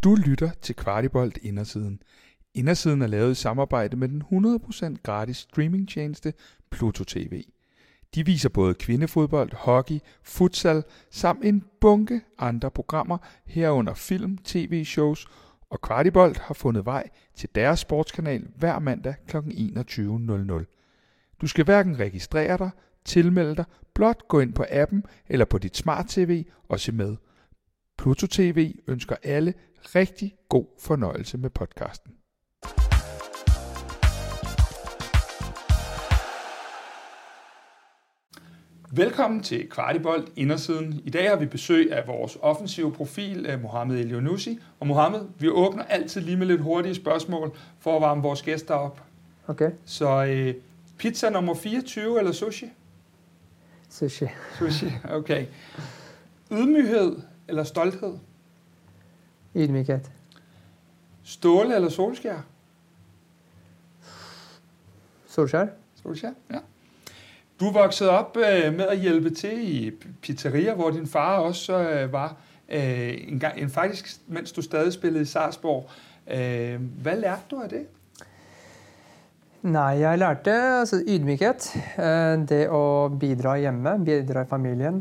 Du lytter til Kvartibolt Indersiden. Indersiden er lavet i samarbejde med den 100% gratis streamingtjeneste Pluto TV. De viser både kvindefodbold, hockey, futsal samt en bunke andre programmer herunder film, tv-shows, og Kvartibolt har fundet vej til deres sportskanal hver mandag kl. 21.00. Du skal hverken registrere dig, tilmelde dig, blot gå ind på appen eller på dit smart-tv og se med. Pluto TV ønsker alle rigtig god fornøjelse med podcasten. Velkommen til Kvartibolt Indersiden. I dag har vi besøg af vores offensive profil, Mohamed Elyounoussi. Og Mohamed, vi åbner altid lige med lidt hurtige spørgsmål for at varme vores gæster op. Okay. Så pizza nummer 24 eller sushi? Sushi. Sushi, okay. Ydmyghed eller stolthed? Ydmykhed. Ståle eller solskær? Solskær. Solskær, ja. Du voksede op med at hjælpe til i pizzeria, hvor din far også var faktisk, mens du stadig spillede i Sarpsborg. Hvad lærte du af det? Nej, jeg lærte altså ydmykhed. Det at bidra hjemme, bidra i familien.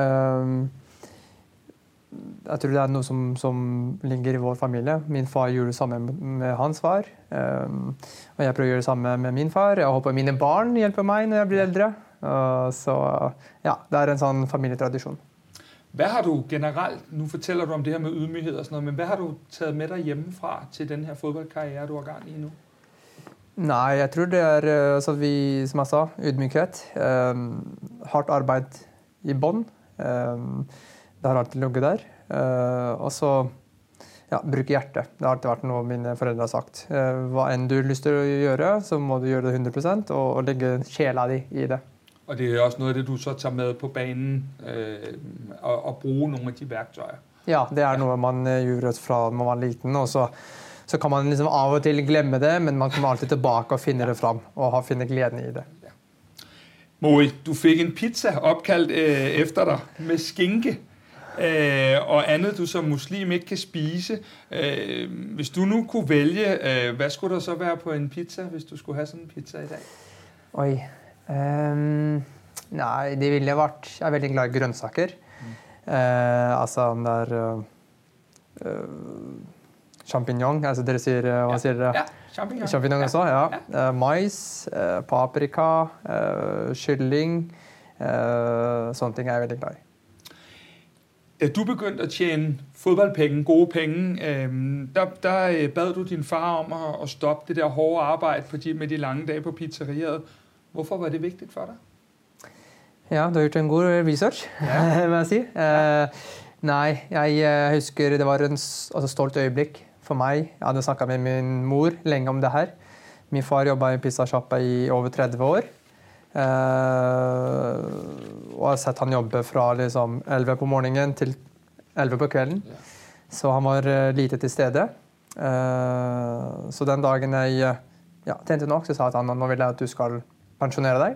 Jeg tror det er noget, som ligger i vår familie. Min far gjorde det samme med hans far. Og jeg prøver at gøre det samme med min far. Jeg håper mine barn hjælper mig, når jeg bliver ældre. Så ja, det er en sådan familietradition. Hvad har du generelt, nu fortæller du om det her med ydmyghed og sådan noget, men hvad har du taget med dig hjemmefra til den her fodboldkarriere, du har gang i nu? Nej, jeg tror det er, så vi, som jeg sa, ydmykhed. Hardt arbejde i bånd. Det har alltid ligget der. Og så ja, bruke hjertet. Det har alltid vært noe mine foreldre har sagt. Hva enn du har lyst til å gjøre, så må du gjøre det 100% og legge sjæla di i det. Og det er også noget af det, du så tager med på banen og bruge nogle af de værktøjer. Ja, det er noe man gjorde fra man var liten, og så kan man liksom av og til glemme det, men man kommer alltid tilbake og finner det frem og finner glæden i det. Ja. Moi, du fik en pizza opkaldt efter dig med skinke. Og andet du som muslim ikke kan spise. Hvis du nu kunne vælge, hvad skulle der så være på en pizza, hvis du skulle have sådan en pizza i dag? Oi. Nej, det ville jeg vært. Jeg er veldig glad i grønnsaker. Altså der champignon, altså dere sier, hva sier dere? Ja, champignon. Champignon også, ja. Mais, paprika, kylling, sånne ting er jeg veldig glad i. Da du begyndte at tjene fodboldpenge, gode penge, der bad du din far om at stoppe det der hårde arbejde med de lange dage på pizzeriet. Hvorfor var det vigtigt for dig? Ja, du har gjort en god research, må jeg si. Nej, jeg husker det var en stolt øjeblik for mig. Jeg hadde snakket med min mor længe om det her. Min far jobbede i pizzashoppa i over 30 år. Og jeg har sett han jobbe fra liksom 11 på morgenen til 11 på kvelden. Så han var lite til stede. Så den dagen jeg tjente nok, så sa han nå vil jeg at du skal pensjonere deg.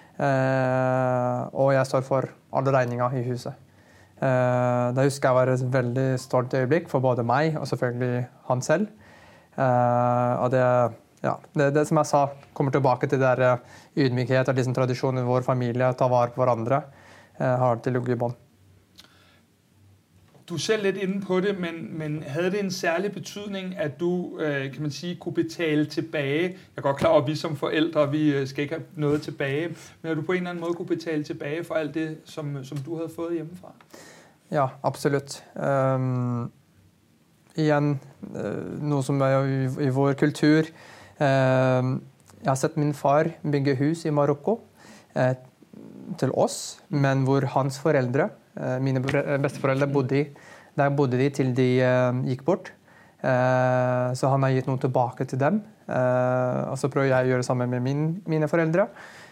Og jeg står for alle regninger i huset. Da husker jeg var et veldig stolt øyeblikk for både meg og selvfølgelig han selv. Og det som jeg sa, kommer tilbake til det der ydmykhet og liksom tradisjonen i vår familie, ta vare på hverandre, har alltid ligget i bånd. Du er selv lidt inde på det, men havde det en særlig betydning, at du, kan man sige, kunne betale tilbage? Jeg er godt klar over, at vi som forældre, vi skal ikke have noget tilbage, men at du på en eller anden måde kunne betale tilbage for alt det, som du havde fået hjemmefra? Ja, absolut. Igen, noe som er i vår kultur. Jeg har sett min far bygge hus i Marokko til oss, men hvor hans foreldre, mine besteforeldre, bodde i. Der bodde de til de gikk bort. Så han har gitt noe tilbake til dem. Og så prøver jeg å gjøre det samme med mine foreldre.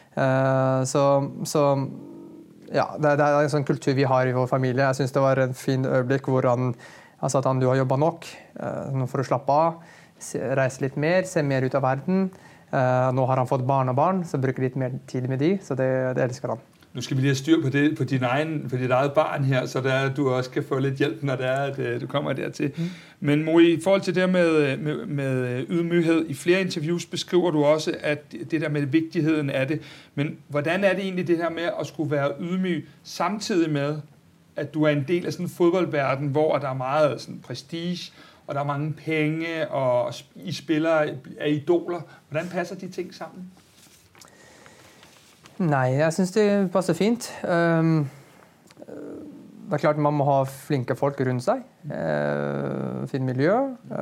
Så ja, det er en sånn kultur vi har i vår familie. Jeg synes det var en fin øyeblikk hvor han sa at du har jobbet nok for å slappe av, reise litt mer, se mer ut av verden. Nå har han fått barn og barn, så bruker litt mer tid med de, så det elsker han. Nu skal vi lige have styr på det på dit eget barn her, så der du også kan få lidt hjælp, når det er, at du kommer dertil. Men Mo, i forhold til det med ydmyghed, i flere interviews beskriver du også, at det der med vigtigheden af det. Men hvordan er det egentlig det her med at skulle være ydmyg, samtidig med, at du er en del af sådan en fodboldverden, hvor der er meget sådan prestige, og der er mange penge, og I spillere er idoler. Hvordan passer de ting sammen? Nej, jeg synes det passer fint. Det er klart man må ha flinke folk rundt seg. Fint miljø.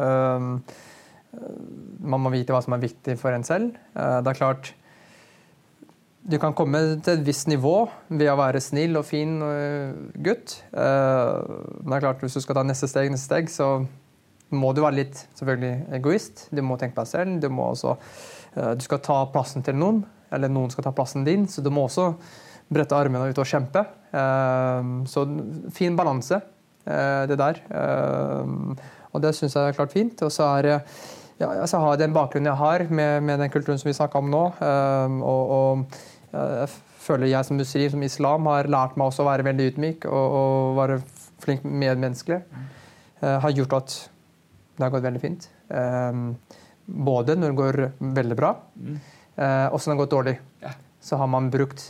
Man må vite hva som er viktig for en selv. Det er klart, du kan komme til et visst nivå ved å være snill og fin gutt. Men det er klart, hvis du skal ta neste steg, så må du være litt selvfølgelig egoist. Du må tenke på deg selv. Du skal ta plassen til noen, eller noen skal ta plassen din, så du må også brette armene ut og kjempe. Så fin balanse, det der. Og det synes jeg er klart fint. Og så har jeg den bakgrunnen jeg har med den kulturen som vi snakker om nå, og jeg føler jeg som muslim, som islam, har lært meg også å være veldig ydmyk og være flink medmenneskelig. Har gjort at det har gått veldig fint. Både når det går veldig bra, også når det går dårlig. Så har man brukt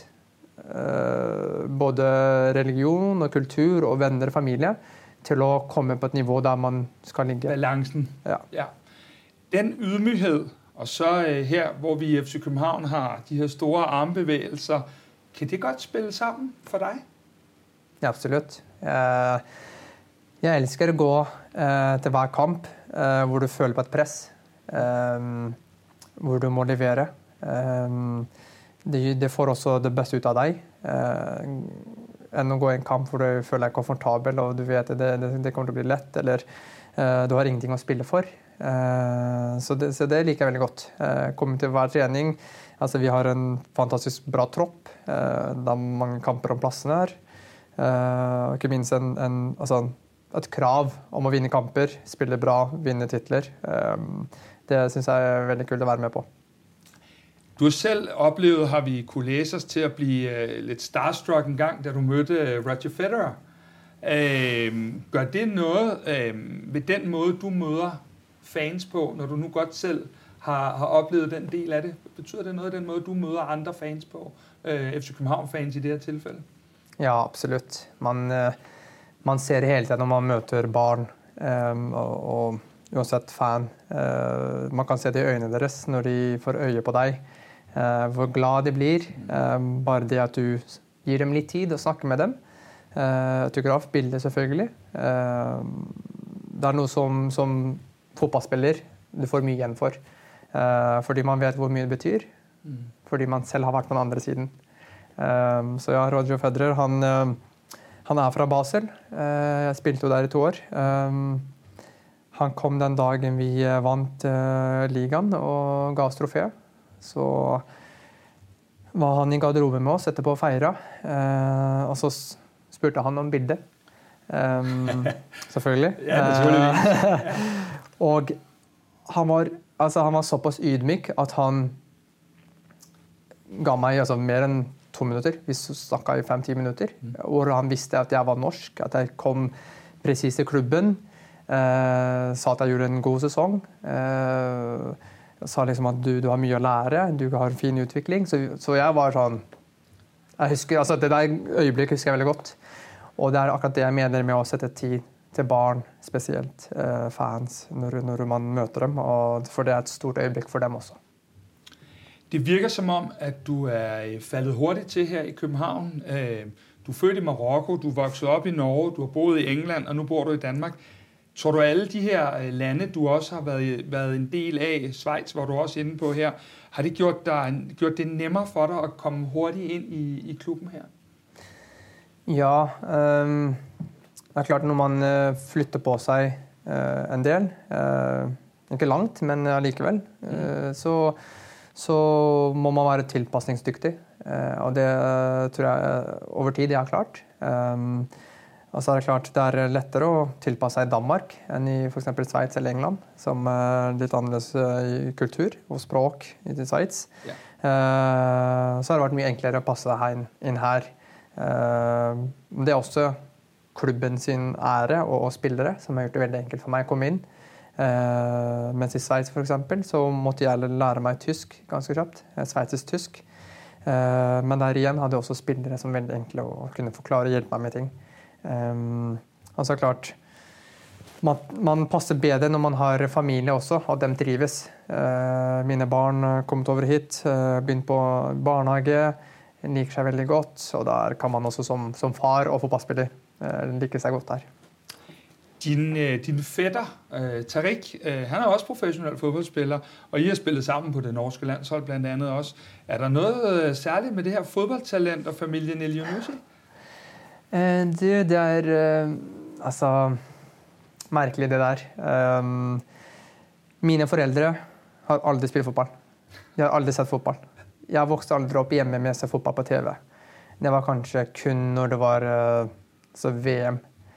både religion og kultur og venner og familie til å komme på et nivå der man skal ligge. Balancen. Ja. Den ydmyghed, og så her, hvor vi i FC København har de her store armbevægelser, kan det godt spille sammen for dig? Ja, absolutt. Jeg elsker å gå til hver kamp hvor du føler på et press, hvor du må levere. Det får også det beste ut av deg, enn å gå i en kamp hvor du føler deg komfortabel, og du vet det kommer til å bli lett, eller du har ingenting å spille for. Så det liker jeg veldig godt. Komme til hver trening, altså vi har en fantastisk bra tropp, det er mange kamper om plassene her, og ikke minst et krav om å vinne kamper, spille bra, vinne titler. Det synes jeg er veldig kult å være med på. Du har selv oplevet, har vi kunne læse os til at blive lidt starstruck en gang, da du mødte Roger Federer. Gør det noget ved den måde, du møder fans på, når du nu godt selv har oplevet den del af det? Betyder det noget af den måde, du møder andre fans på? FC København-fans i det her tilfælde? Ja, absolut. Man ser det hele tiden når man møter barn, og uansett fan. Man kan se det i øynene deres når de får øye på deg. Hvor glad de blir. Bare det at du gir dem litt tid og snakker med dem. Autograf, bilder selvfølgelig. Det er noe som fotballspiller du får mye igjen for. Fordi man vet hvor mye det betyr. Fordi man selv har vært på den andre siden. Så ja, Roger Federer, han er fra Basel. Jeg spilte jo der i 2 år. Han kom den dagen vi vant ligaen og ga oss trofé. Så var han i garderoben med oss etterpå å feire. Og så spurte han om bildet. Selvfølgelig. Ja, naturligvis. Og han var såpass ydmyk at han ga meg mer enn 2 minutter. Vi snakket i 5-10 minutter. Hvor han visste at jeg var norsk, at jeg kom precis til klubben. Sa at jeg gjorde en god sesong. Sa liksom at du har mye å lære, du har en fin utvikling. Så jeg var sånn, jeg husker, det der øyeblikk husker jeg veldig godt. Og det er akkurat det jeg mener med å sette tid til barn, spesielt fans, når man møter dem. For det er et stort øyeblikk for dem også. Det virker som om, at du er faldet hurtigt til her i København. Du er født i Marokko, du er vokset op i Norge, du har boet i England, og nu bor du i Danmark. Tror du, alle de her lande, du også har været en del af, Schweiz, hvor du også er inde på her, har det gjort det nemmere for dig at komme hurtigt ind i klubben her? Ja, det er klart når man flytter på seg en del, ikke langt, men allikevel, så må man være tilpasningsdyktig, og det tror jeg over tid er klart. Og så det klart, det lettere å tilpasse seg i Danmark enn i for eksempel Sveits eller England, som litt annerledes i kultur og språk i Sveits. Ja. Så det vært mye enklere å passe seg inn her. Det også klubben sin ære og spillere som har gjort det veldig enkelt for meg å komme inn. Mens i Sveits for eksempel, så måtte jeg lære meg tysk ganske kjapt. Sveitsisk tysk. Men der igjen hadde jeg også spillere som veldig enkle å kunne forklare og hjelpe meg med ting. Altså klart man passer bedre når man har familie også, og de trives. Mine barn kommet over hit, begynt på barnehage, liker seg veldig godt, og der kan man også som far og fotballspiller like seg godt her. Din fætter, Tariq, han også professionel fodboldspiller, og I har spillet sammen på det norske landshold blandt andet også. Der noget særligt med det her fodboldtalent og familien Elyounoussi? Det altså merkelig det der. Mine foreldre har aldri spilt fotball. De har aldri sett fotball. Jeg vokste aldri opp hjemme med å se fotball på TV. Det var kanskje kun når det var VM.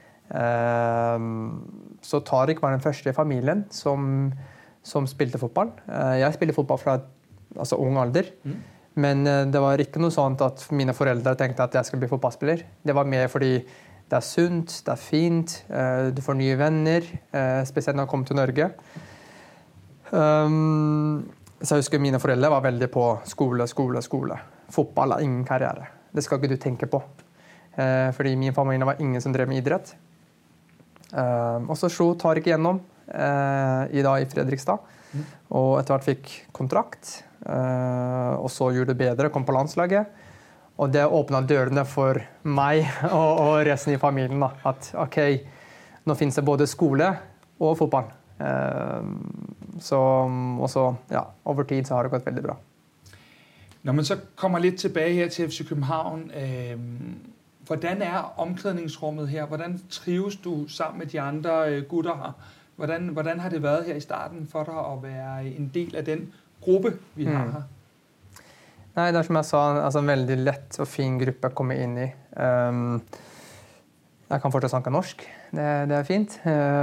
Så Tariq var den første i familien som spilte fotball. Jeg spilte fotball fra ung alder. Men det var ikke noe sånt at mine foreldre tenkte at jeg skulle bli fotballspiller. Det var mer fordi det sunt, det fint, du får nye venner, spesielt når jeg kom til Norge. Så jeg husker mine foreldre var veldig på skole. Fotball ingen karriere. Det skal ikke du tenke på. Fordi min familie var ingen som drev med idrett. Og så slo Tariq igjennom i Fredrikstad. Og etter hvert fikk kontrakt. Og så gjorde det bedre, kom på landslaget. Og det åpnet dørene for meg og resten i familien. Da. At ok, nå finnes det både skole og fotball. Og så, ja, over tid så har det gått veldig bra. Når man så kommer litt tilbake her til FC København, hvordan omklædningsrummet her? Hvordan trives du sammen med de andre gutter her? Hvordan har det været her i starten for deg å være en del av den gruppe vi har her? Nei, det som jeg sa, en veldig lett og fin gruppe å komme inn i. Jeg kan fortsatt snakke norsk, det fint.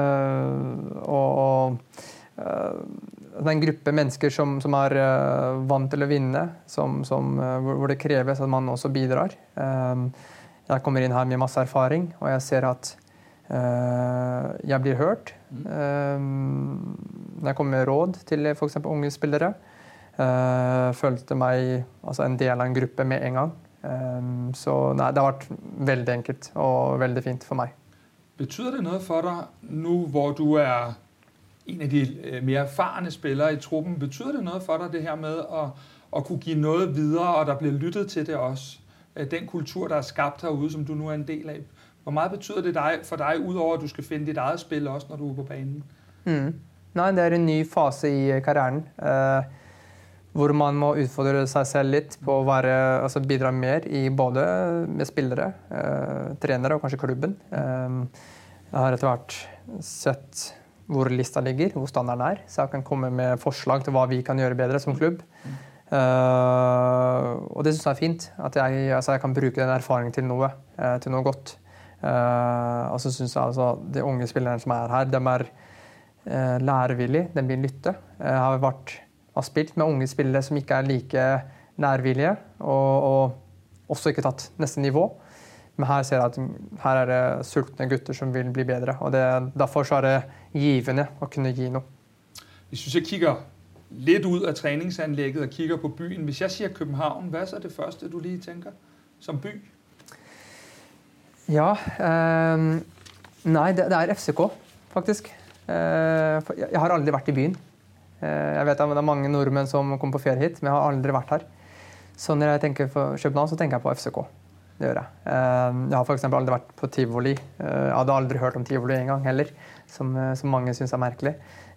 En gruppe mennesker som vant til å vinne, hvor det kreves at man også bidrar. Jeg kommer inn her med masse erfaring, og jeg ser at jeg blir hørt. Når jeg kommer med råd til for eksempel unge spillere, følte meg en del av en gruppe med en gang. Så nei, det har vært veldig enkelt og veldig fint for meg. Betyder det noe for deg nå hvor du en av de mer erfarne spillere i truppen? Betyder det noe for deg det her med å kunne gi noe videre, og der blir lyttet til det også? Den kultur der skapt herude, som du nå en del av. Hvor mye betyder det for deg utover at du skal finne ditt eget spill også når du på banen? Nei, det en ny fase i karrieren. Hvor man må utfordre seg selv litt på å bidra mer i både med spillere, trenere og kanskje klubben. Jeg har etter hvert sett hvor lista ligger, hvor standarden så jeg kan komme med forslag til hva vi kan gjøre bedre som klubb. Og det synes jeg fint, at jeg kan bruke den erfaringen til noe godt. Og så synes jeg de unge spillerne som her, de lærevillige, de blir lytte. Jeg har spilt med unge spillere som ikke like lærvillige, og også ikke tatt neste nivå. Men her ser jeg at her det sultne gutter som vil bli bedre, og derfor så det givende å kunne gi noe. Hvis du så kigger litt ut av treningsanlegget og kigger på byen, hvis jeg sier København, hva så det første du lige tenker som by? Ja, nei, det FCK, faktisk. Jeg har aldri vært i byen. Jeg vet at det mange nordmenn som kommer på ferie hit, men jeg har aldri vært her. Så når jeg tenker på København, så tenker jeg på FCK. Det gjør jeg. Jeg har for eksempel aldri vært på Tivoli. Jeg hadde aldri hørt om Tivoli en gang heller, som mange synes merkelig.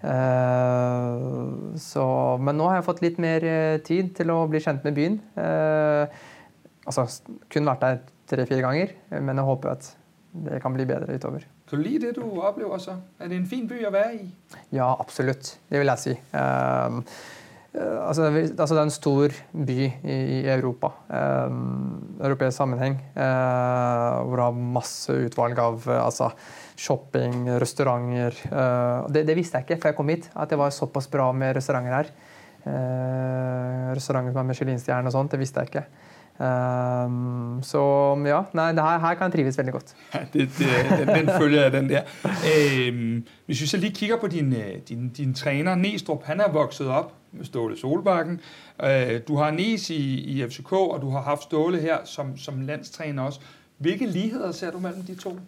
Men nå har jeg fått litt mer tid til å bli kjent med byen. Kun vært der 3-4 ganger, men jeg håper at det kan bli bedre utover. Kan du lide det du opplever så? Det en fin by å være i? Ja, absolutt. Det vil jeg si. Altså det er en stor by i Europa, europeisk sammenheng, hvor det har masse utvalg av shopping, restauranter. Det visste jeg ikke før jeg kom hit, at det var såpass bra med restauranter her. Restauranter som har Michelin-stjerne og sånt, det visste jeg ikke. Så ja, nei, her kan jeg trives veldig godt. Ja, den følger jeg, den der. Hvis vi så lige kigger på din træner, Næstrup, han er vokset op med Ståle Solbakken. Du har Nes i FCK, og du har haft Ståle her som landstræner også. Hvilke ligheder ser du mellem de to?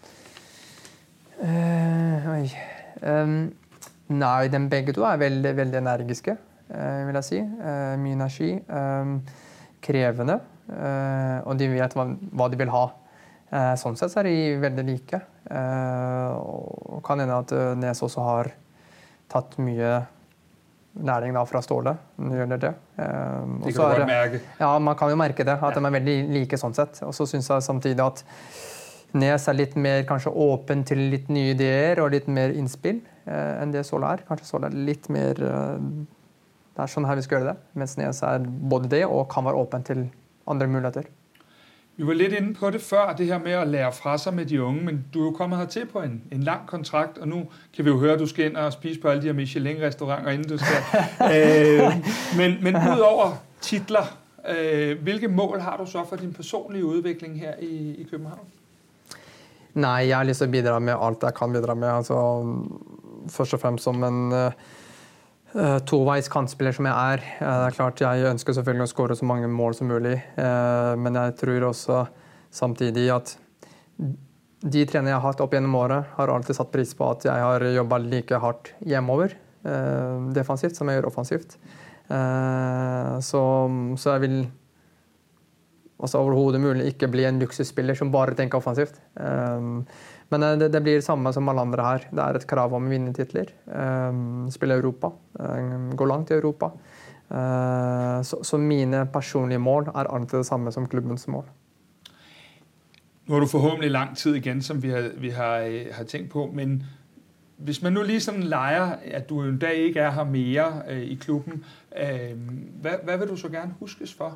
Nei, de begge to er veldig, veldig energiske, vil jeg si. Mye energi. Krevende, og de vet hva de vil ha. Sånn sett så er de veldig like. Og kan hende at Nes også har tatt mye læring da fra Ståle når det gjelder det. Det kan du godt merke. Ja, man kan jo merke det, at de er veldig like sånn sett. Og så synes jeg samtidig at Nes er litt mer kanskje åpen til litt nye ideer og litt mer innspill enn det Ståle er. Kanskje Ståle er litt mer... Det er sånn her vi skal gjøre det, mens Nes er både det og kan være åpen til andre muligheter. Vi var lidt inde på det før, det her med at lære fra sig med de unge, men du er jo kommet hertil på en lang kontrakt, og nu kan vi jo høre, at du skal ind og spise på alle de her Michelin-restauranter, inden du skal. Men udover titler, hvilke mål har du så for din personlige udvikling her i København? Nei, jeg har lyst til å bidra med alt jeg kan bidra med. Altså, først og fremst som en... toveis kantspiller som jeg er. Det er klart jeg ønsker selvfølgelig å skåre så mange mål som mulig, men jeg tror også samtidig at de trenere jeg har hatt opp gjennom året har alltid satt pris på at jeg har jobbet like hardt hjemover, defensivt som jeg gjør offensivt. Så jeg vil overhodet mulig ikke bli en luksusspiller som bare tenker offensivt. Men det blir det samme som alle andre her. Det er et krav om å vinne titler, spille i Europa, gå langt i Europa. Så mine personlige mål er alltid det samme som klubbens mål. Nu har du forhåbentlig lang tid igen, som vi har tænkt på, men hvis man nu lige sådan leger, at du en dag ikke er her mere i klubben, hvad vil du så gerne huskes for?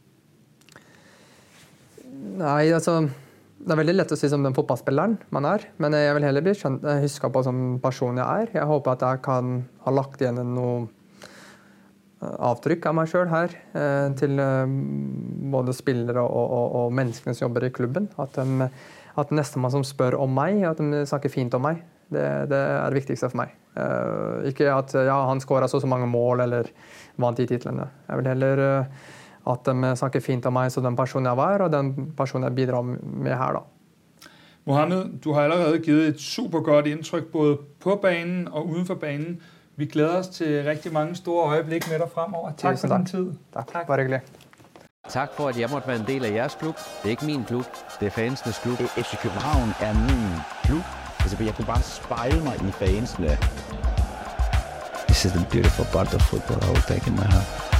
Nei, altså... Det er veldig lett å si som den fotballspilleren man er, men jeg vil heller bli husket på som person jeg er. Jeg håper at jeg kan ha lagt igjen noe avtrykk av meg selv her, til både spillere og menneskene som jobber i klubben. At nestemann som spør om meg, at de snakker fint om meg, det er det viktigste for meg. Ikke at han skåret så mange mål eller vant de titlene. Jeg vil heller... at de snakker fint om meg som den personen jeg var, og den personen jeg bidrar med her da. Mohamed, du har allerede givet et super godt indtryk både på banen og uden for banen. Vi glæder os til rigtig mange store øjeblik med dig fremover. Tak for din tid. Tak. Bare hyggelig. Tak for, at jeg måtte være en del af jeres klub. Det er ikke min klub, det er fansenes klub. FC København er min klub. Altså, jeg kunne bare spejle mig i fansene. This is the beautiful part of football I will take in my heart.